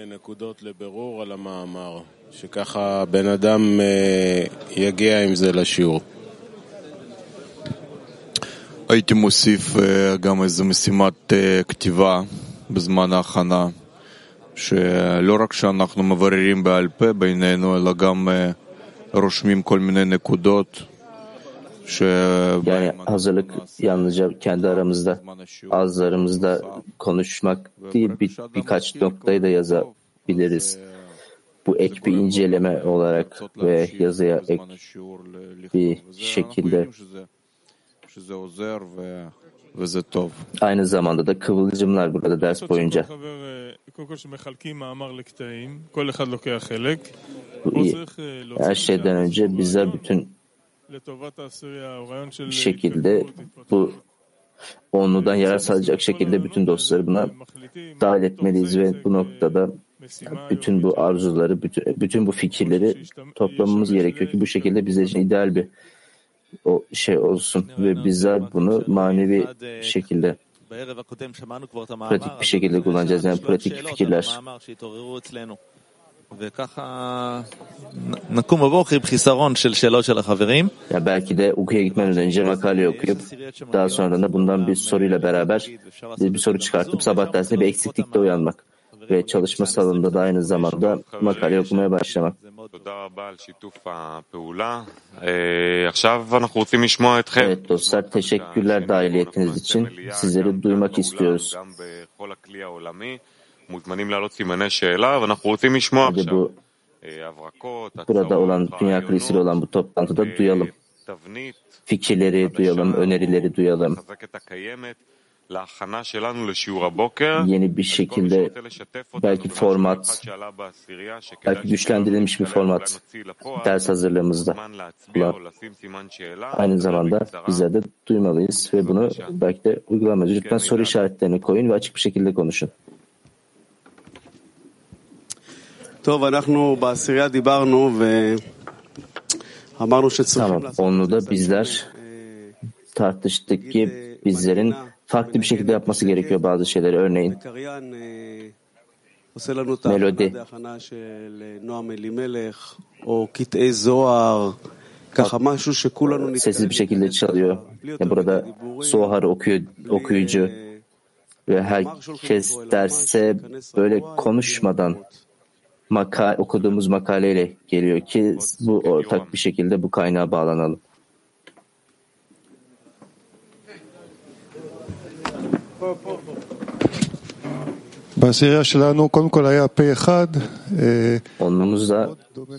הייתי מוסיף גם איזו משימת כתיבה בזמן ההכנה, שלא רק שאנחנו מבררים בעל פה בינינו, אלא גם רושמים כל מיני נקודות. Yani hazırlık yalnızca kendi aramızda, ağızlarımızda konuşmak değil, birkaç noktayı da yazabiliriz. Bu ek bir inceleme olarak ve yazıya ek bir şekilde. Aynı zamanda da kıvılcımlar burada ders boyunca. Her şeyden önce bizler bütün bir şekilde bu onludan yarar sağlayacak şekilde bütün dostları buna dahil etmeliyiz ve bu noktada Bütün bu arzuları, bütün bu fikirleri toplamamız gerekiyor ki bu şekilde bizler için ideal bir o şey olsun ve bizler bunu manevi şekilde pratik bir şekilde kullanacağız. Yani pratik fikirler. Ya belki de uykuya gitmeden önce makale okuyup daha sonra da bundan bir soruyla beraber bir soru çıkartıp sabah dersinde bir eksiklikle uyanmak ve çalışma salonunda da aynı zamanda makale okumaya başlamak. Evet dostlar, teşekkürler dahiliyetiniz için. Sizleri duymak istiyoruz. Hadi bu burada olan Dünya Kilisi'yle olan bu toplantıda duyalım. Fikirleri duyalım, önerileri duyalım. Yeni bir şekilde belki format, belki güçlendirilmiş bir format ders hazırlığımızda. Aynı zamanda bizler de duymalıyız ve bunu belki de uygulamalıyız. Lütfen soru işaretlerini koyun ve açık bir şekilde konuşun. Tamam, onu da bizler tartıştık ki bizlerin farklı bir şekilde yapması gerekiyor bazı şeyleri. Örneğin melodi. Sessiz bir şekilde çalıyor. Yani burada Zohar okuyucu ve herkes derse böyle konuşmadan okuduğumuz makaleyle geliyor ki bu ortak bir şekilde bu kaynağa bağlanalım. Onumuzda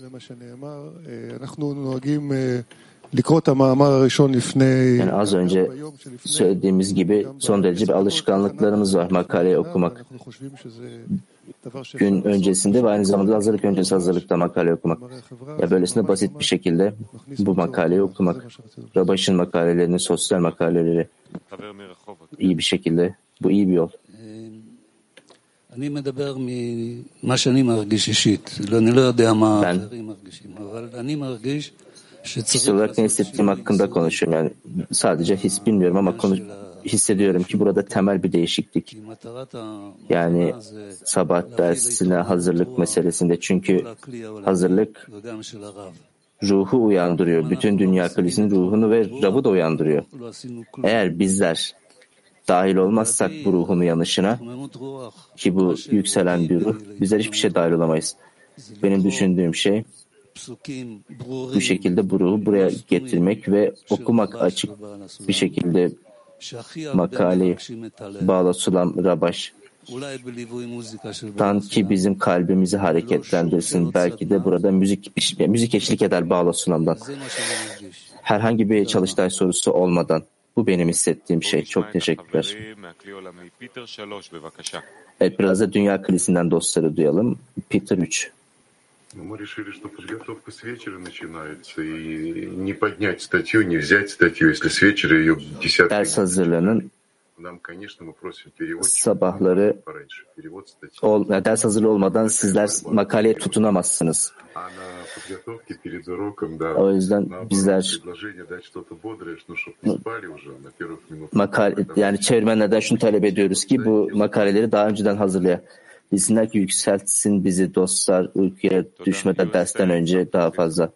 yani az önce söylediğimiz gibi son derece bir alışkanlıklarımız var makaleyi okumak. Gün öncesinde ve aynı zamanda hazırlık öncesi hazırlıkta makale okumak. Ya böylesine basit bir şekilde bu makaleyi okumak. Rabaş'ın makalelerini, sosyal makaleleri iyi bir şekilde. Bu iyi bir yol. Ben kişisel olarak ne hissettiğim hakkında konuşuyorum. Yani sadece his bilmiyorum ama hissediyorum ki burada temel bir değişiklik. Yani sabah dersine hazırlık meselesinde. Çünkü hazırlık ruhu uyandırıyor. Bütün Dünya Kilisi'nin ruhunu ve Rab'ı da uyandırıyor. Eğer bizler dahil olmazsak bu ruhun uyanışına, ki bu yükselen bir ruh, bizler hiçbir şey dahil olamayız. Benim düşündüğüm şey bu şekilde bu ruhu buraya getirmek ve okumak, açık bir şekilde makaleyi Bağla Sulam Rabaş'tan ki bizim kalbimizi hareketlendirsin. Belki de burada müzik eşlik eder Bağla Sulam'dan. Herhangi bir çalıştay sorusu olmadan. Bu benim hissettiğim şey. Çok teşekkürler. Evet, biraz da Dünya Kilisi'nden dostları duyalım. Peter 3. Мы решили, что подготовка с вечера начинается, и не поднять статью, не взять статью, если с вечера ее десятки. Ders hazırlığının sabahları ders hazırlığı olmadan sizler makaleye tutunamazsınız. O yüzden bizler yani çevirmenlerden şunu talep ediyoruz ki bu makaleleri daha önceden hazırlayalım. Bilsinler ki yükseltsin bizi dostlar uykuya düşmeden dersten önce daha fazla.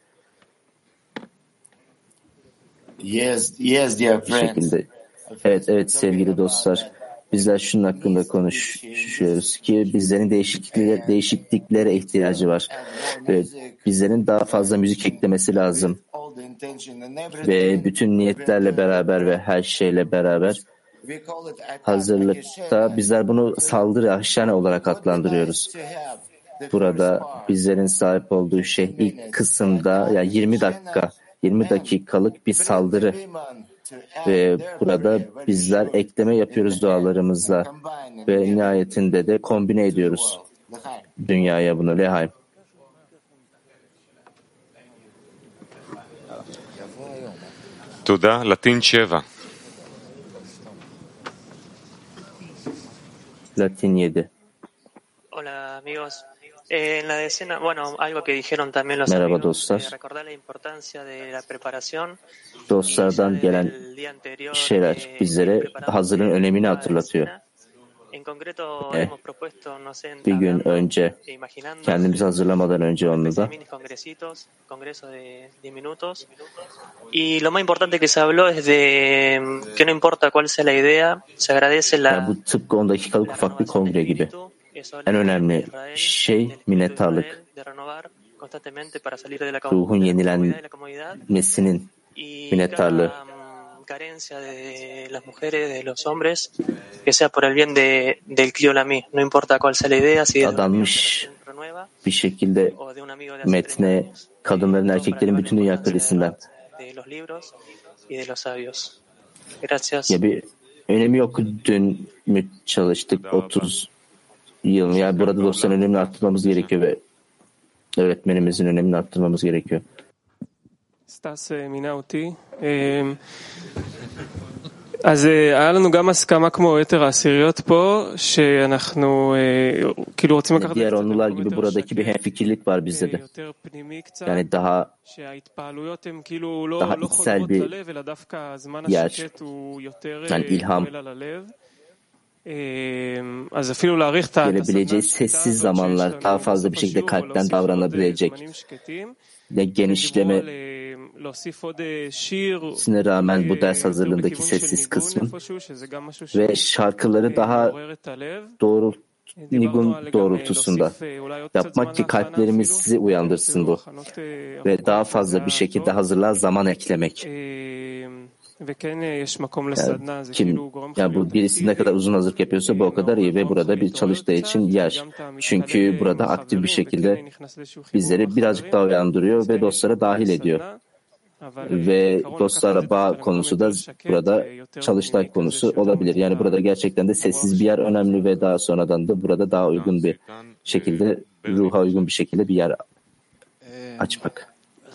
Yes, dear friends. Evet sevgili dostlar. Bizler şunun hakkında konuşuyoruz ki bizlerin değişikliklere ihtiyacı var. Ve bizlerin daha fazla müzik eklemesi lazım. Ve bütün niyetlerle beraber ve her şeyle beraber hazırlıkta bizler bunu saldırı ahşane olarak adlandırıyoruz. Burada bizlerin sahip olduğu şey ilk kısımda yani 20 dakikalık bir saldırı ve burada bizler ekleme yapıyoruz dualarımızla ve nihayetinde de kombine ediyoruz dünyaya bunu. Lehaim. Tuda, Latin 7. Latin 7. Hola amigos, Merhaba dostlar. Dostlardan gelen şeyler bizlere hazırlığın önemini hatırlatıyor. Bir gün önce, kendimizi hazırlamadan önce onu da yani bu tıpkı 10 dakikalık ufak bir kongre gibi. En önemli şey minnettarlık. Ruhun yenilenmesinin minnettarlığı. Carencia de las mujeres, de los hombres, que sea por el bien del Clio Lamy, no importa cuál sea la idea, si adanmış bir şekilde metne kadınların erkeklerin bütün dünya kalesinden. Ya bir önemi yok, dün mü çalıştık 30 yıl. Yani burada dostların önemini arttırmamız gerekiyor ve öğretmenimizin önemini arttırmamız gerekiyor. סטס מינה אותי. אז היה לנו גם הסכמה כמו יתר העשיריות פה, שאנחנו כאילו רוצים לקחת diğer onlular gibi buradaki bir hemfikirlik var bizde de. Yani daha içsel bir yer. Yani ilham gelebileceği sessiz zamanlar, daha fazla bir şekilde kalpten davranabilecek ve genişleme sine rağmen bu ders hazırlığındaki sessiz kısmın ve şarkıları daha nigun doğrultusunda yapmak ki kalplerimizi uyandırsın bu ve daha fazla bir şekilde hazırlığa zaman eklemek. Yani bu birisi ne kadar uzun hazırlık yapıyorsa bu o kadar iyi ve burada bir çalıştığı için yer. Çünkü burada aktif bir şekilde bizleri birazcık daha uyandırıyor ve dostlara dahil ediyor. Ve dostlara bağ konusu da burada çalıştay konusu olabilir. Yani burada gerçekten de sessiz bir yer önemli ve daha sonradan da burada daha uygun bir şekilde, ruha uygun bir şekilde bir yer açmak.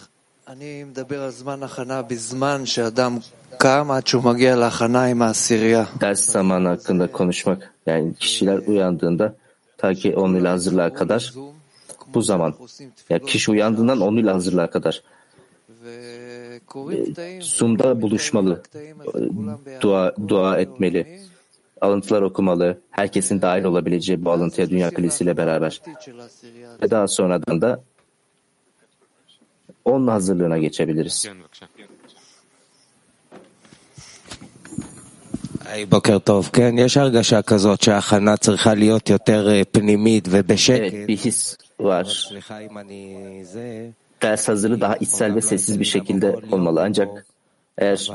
Ders zamanı hakkında konuşmak. Yani kişiler uyandığında ta ki 10 ile hazırlığa kadar bu zaman. Yani kişi uyandığından 10 ile hazırlığa kadar. Zoom'da buluşmalı, dua etmeli, alıntılar okumalı, herkesin dahil olabileceği bu alıntıya Dünya Kulesi ile beraber. Ve daha sonradan da onun hazırlığına geçebiliriz. בוקר טוב. כן, יש הרגשה כזאת שההכנה צריכה להיות יותר פנימית ובשקט. Evet, bir his var. Ders hazırlığı daha içsel ve sessiz bir şekilde olmalı. Ancak eğer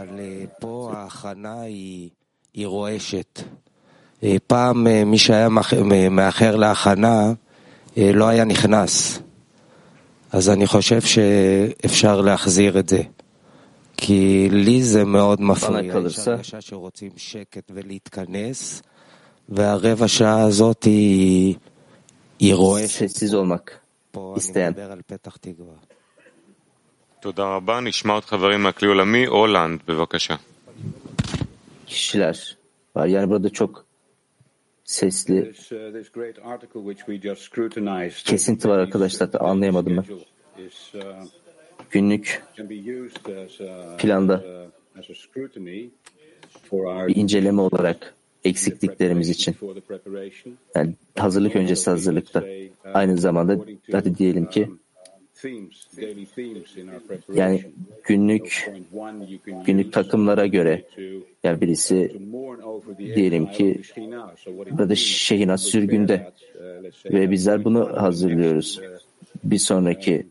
פעם מי שהיה מאחר להכנה לא היה נכנס. אז אני חושב שאפשר להחזיר את זה. כי לי זה מאוד מפריע. יש הרגשה שרוצים שקט ולהתכנס, והרבע שעה הזאת היא רועשת. פה אני מדבר על פתח תקווה. תודה רבה. נשמע עוד חברים מהכלי עולמי. הולנד, בבקשה. Kişiler var. Yani burada çok sesli kesinti var arkadaşlar. Anlayamadım ben. Günlük planda bir inceleme olarak eksikliklerimiz için. Yani hazırlık öncesi hazırlıkta. Aynı zamanda hadi diyelim ki yani günlük takımlara göre yani birisi diyelim ki burada Şehinaz sürgünde ve bizler bunu hazırlıyoruz. Bir sonraki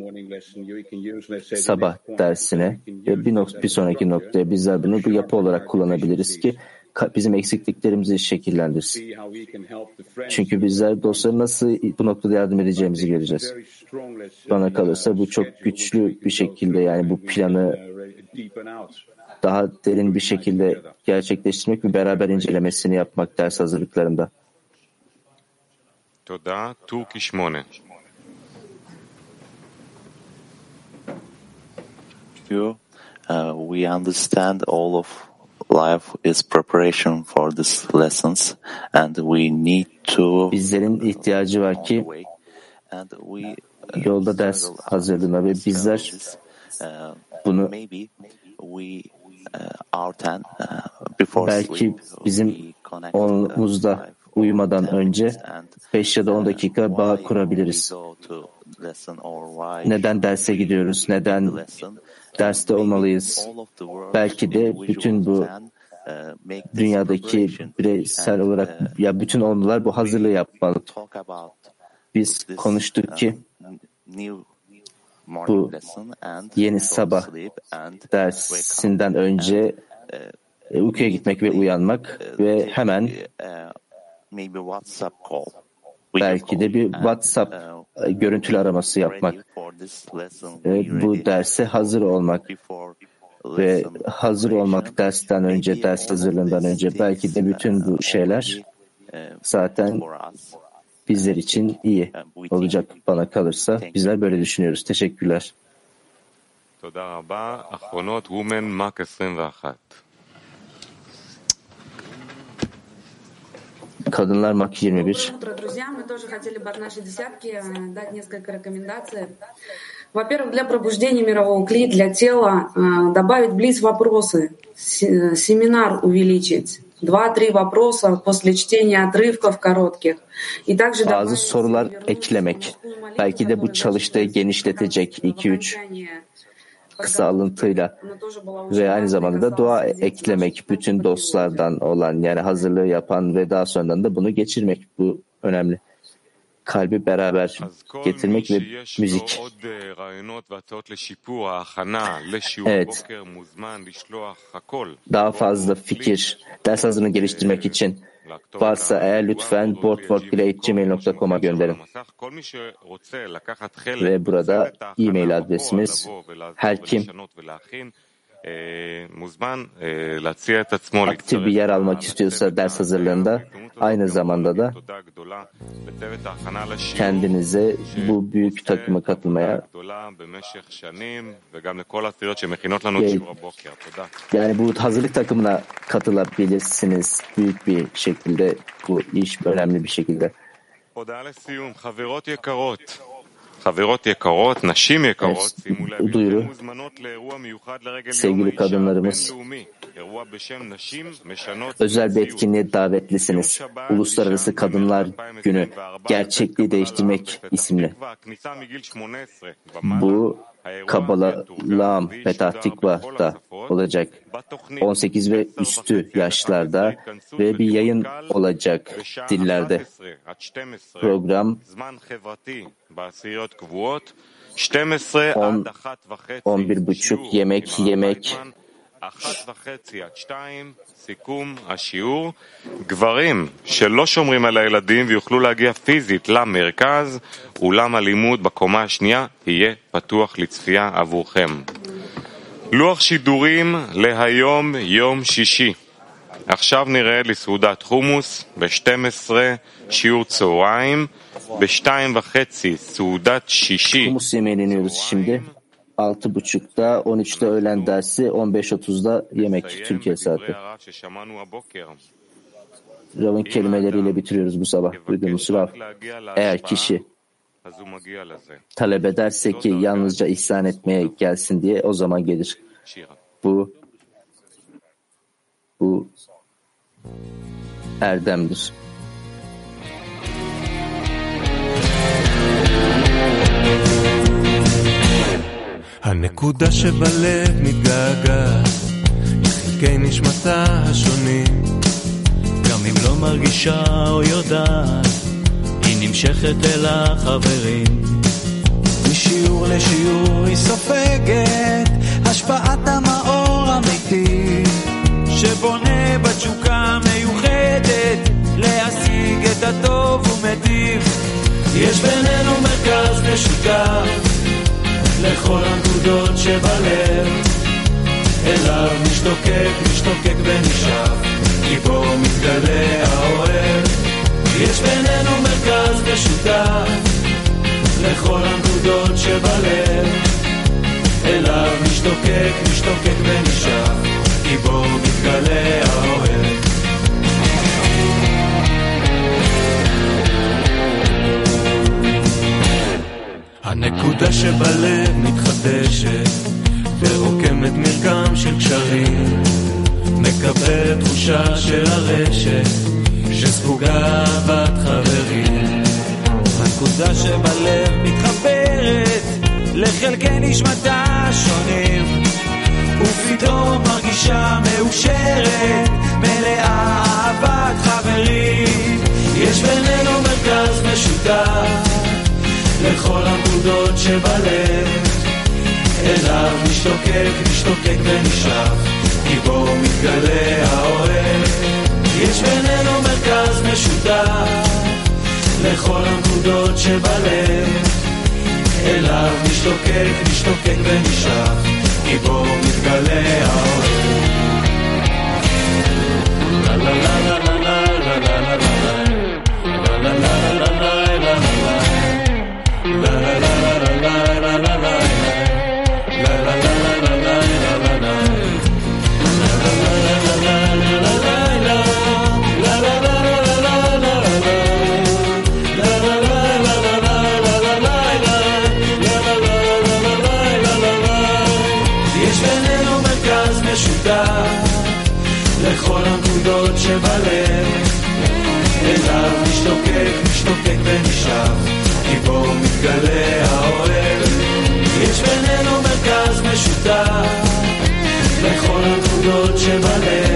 sabah dersine ve bir sonraki noktaya bizler bunu bu yapı olarak kullanabiliriz ki bizim eksikliklerimizi şekillendirsin. Çünkü bizler dostlara nasıl bu noktada yardım edeceğimizi göreceğiz. Bana kalırsa bu çok güçlü bir şekilde yani bu planı daha derin bir şekilde gerçekleştirmek ve beraber incelemesini yapmak ders hazırlıklarında. Toda, Turki 8. We understand all of life is preparation for these lessons and we need to bizlerin ihtiyacı var ki yolda ders hazırlığına ve bizler bunu belki bizim onumuzda uyumadan önce 5 ya da 10 dakika bağ kurabiliriz. Neden derse gidiyoruz? Neden derste olmalıyız? Belki de bütün bu dünyadaki bireysel olarak ya bütün onlular bu hazırlığı yapmalı. Biz konuştuk ki bu yeni sabah dersinden önce uykuya gitmek ve uyanmak ve hemen belki de bir WhatsApp görüntülü araması yapmak. Bu derse hazır olmak ve hazır olmak dersten önce, ders hazırlığından önce belki de bütün bu şeyler zaten bizler için iyi olacak bana kalırsa. Bizler böyle düşünüyoruz. Teşekkürler. Kadınlar Mak 21. Во-первых, для пробуждения мирового кли, для тела добавить близ вопросы, семинар увеличить. 2-3 вопроса после чтения отрывков коротких. И также bazı sorular eklemek. Belki de bu çalıştığı genişletecek 2-3 kısa alıntıyla ve aynı zamanda da dua eklemek bütün dostlardan olan yani hazırlığı yapan ve daha sonradan da bunu geçirmek bu önemli. Kalbi beraber getirmek ve müzik. Evet. Daha fazla fikir, ders hazırlığını geliştirmek için varsa eğer lütfen boardwork@gmail.com'a gönderin. Ve burada e-mail adresimiz her kim aktif bir yer almak istiyorsa ders hazırlığında aynı zamanda da kendinize bu büyük takıma katılmaya yani bu hazırlık takımına katılabilirsiniz büyük bir şekilde bu iş önemli bir şekilde. Duyuru. Sevgili kadınlarımız, özel bir etkinliğe davetlisiniz. Uluslararası Kadınlar Günü, Gerçekliği Değiştirmek isimli. Bu Kabbalah Petah Tikva'da olacak. 18 ve üstü yaşlarda ve bir yayın olacak dillerde. Program 11:30 yemek סיכום השיעור, גברים שלא שומרים על הילדים ויוכלו להגיע פיזית למרכז, אולם הלימוד בקומה השנייה יהיה פתוח לצפייה עבורכם. לוח שידורים להיום יום שישי. עכשיו נראה לסעודת חומוס ב-12 שיעור צהריים, ב-2:30 סעודת שישי. Humus yemeğini yeniyoruz şimdi. 6:30'da, 13'te öğlen dersi, 15:30'da yemek Türkiye saati. Rav'ın kelimeleriyle bitiriyoruz bu sabah. Duyduğumuz Rav. Eğer kişi talep ederse ki yalnızca ihsan etmeye gelsin diye o zaman gelir. Bu erdemdir. הנקודה שבלב מתגעגעת לחלקי נשמתה השונים, גם אם לא מרגישה או יודעת, היא נמשכת אל החברים. משיעור לשיעור היא סופגת השפעת המאור אמיתי, שבונה בתשוקה מיוחדת להשיג את הטוב ומטיב. יש בינינו מרכז משותף לכל הנקודות שבלב, אליו משתוקק ונשאף, כי בו מתגלה האוהב. יש בינינו מרכז משותף לכל הנקודות שבלב, אליו משתוקק ונשאף, כי בו מתגלה האוהב. הנקודה שבלב מתחדשת ורוקמת מרקם של קשרים, מקבלת תחושה של הרשת שספוגה אהבת חברים. הנקודה שבלב מתחברת לחלקי נשמתה שונים, ופתאום מרגישה מאושרת, מלאה אהבת חברים. יש בינינו מרכז משותף לכל הנקודות שבלב, אליו משתוקק ונשאף, כי בו מתגלה האוהב. יש בינינו מרכז משותף לכל הנקודות שבלב, אליו משתוקק ונשאף, כי בו מתגלה האוהב. לה לה לה לה לה לה לה לה לה לה לה לה לכל הנקודות שבלב, אליו משתוקק ונשאף, כי בו מתגלה האוהב. יש בינינו מרכז משותף לכל הנקודות שבלב,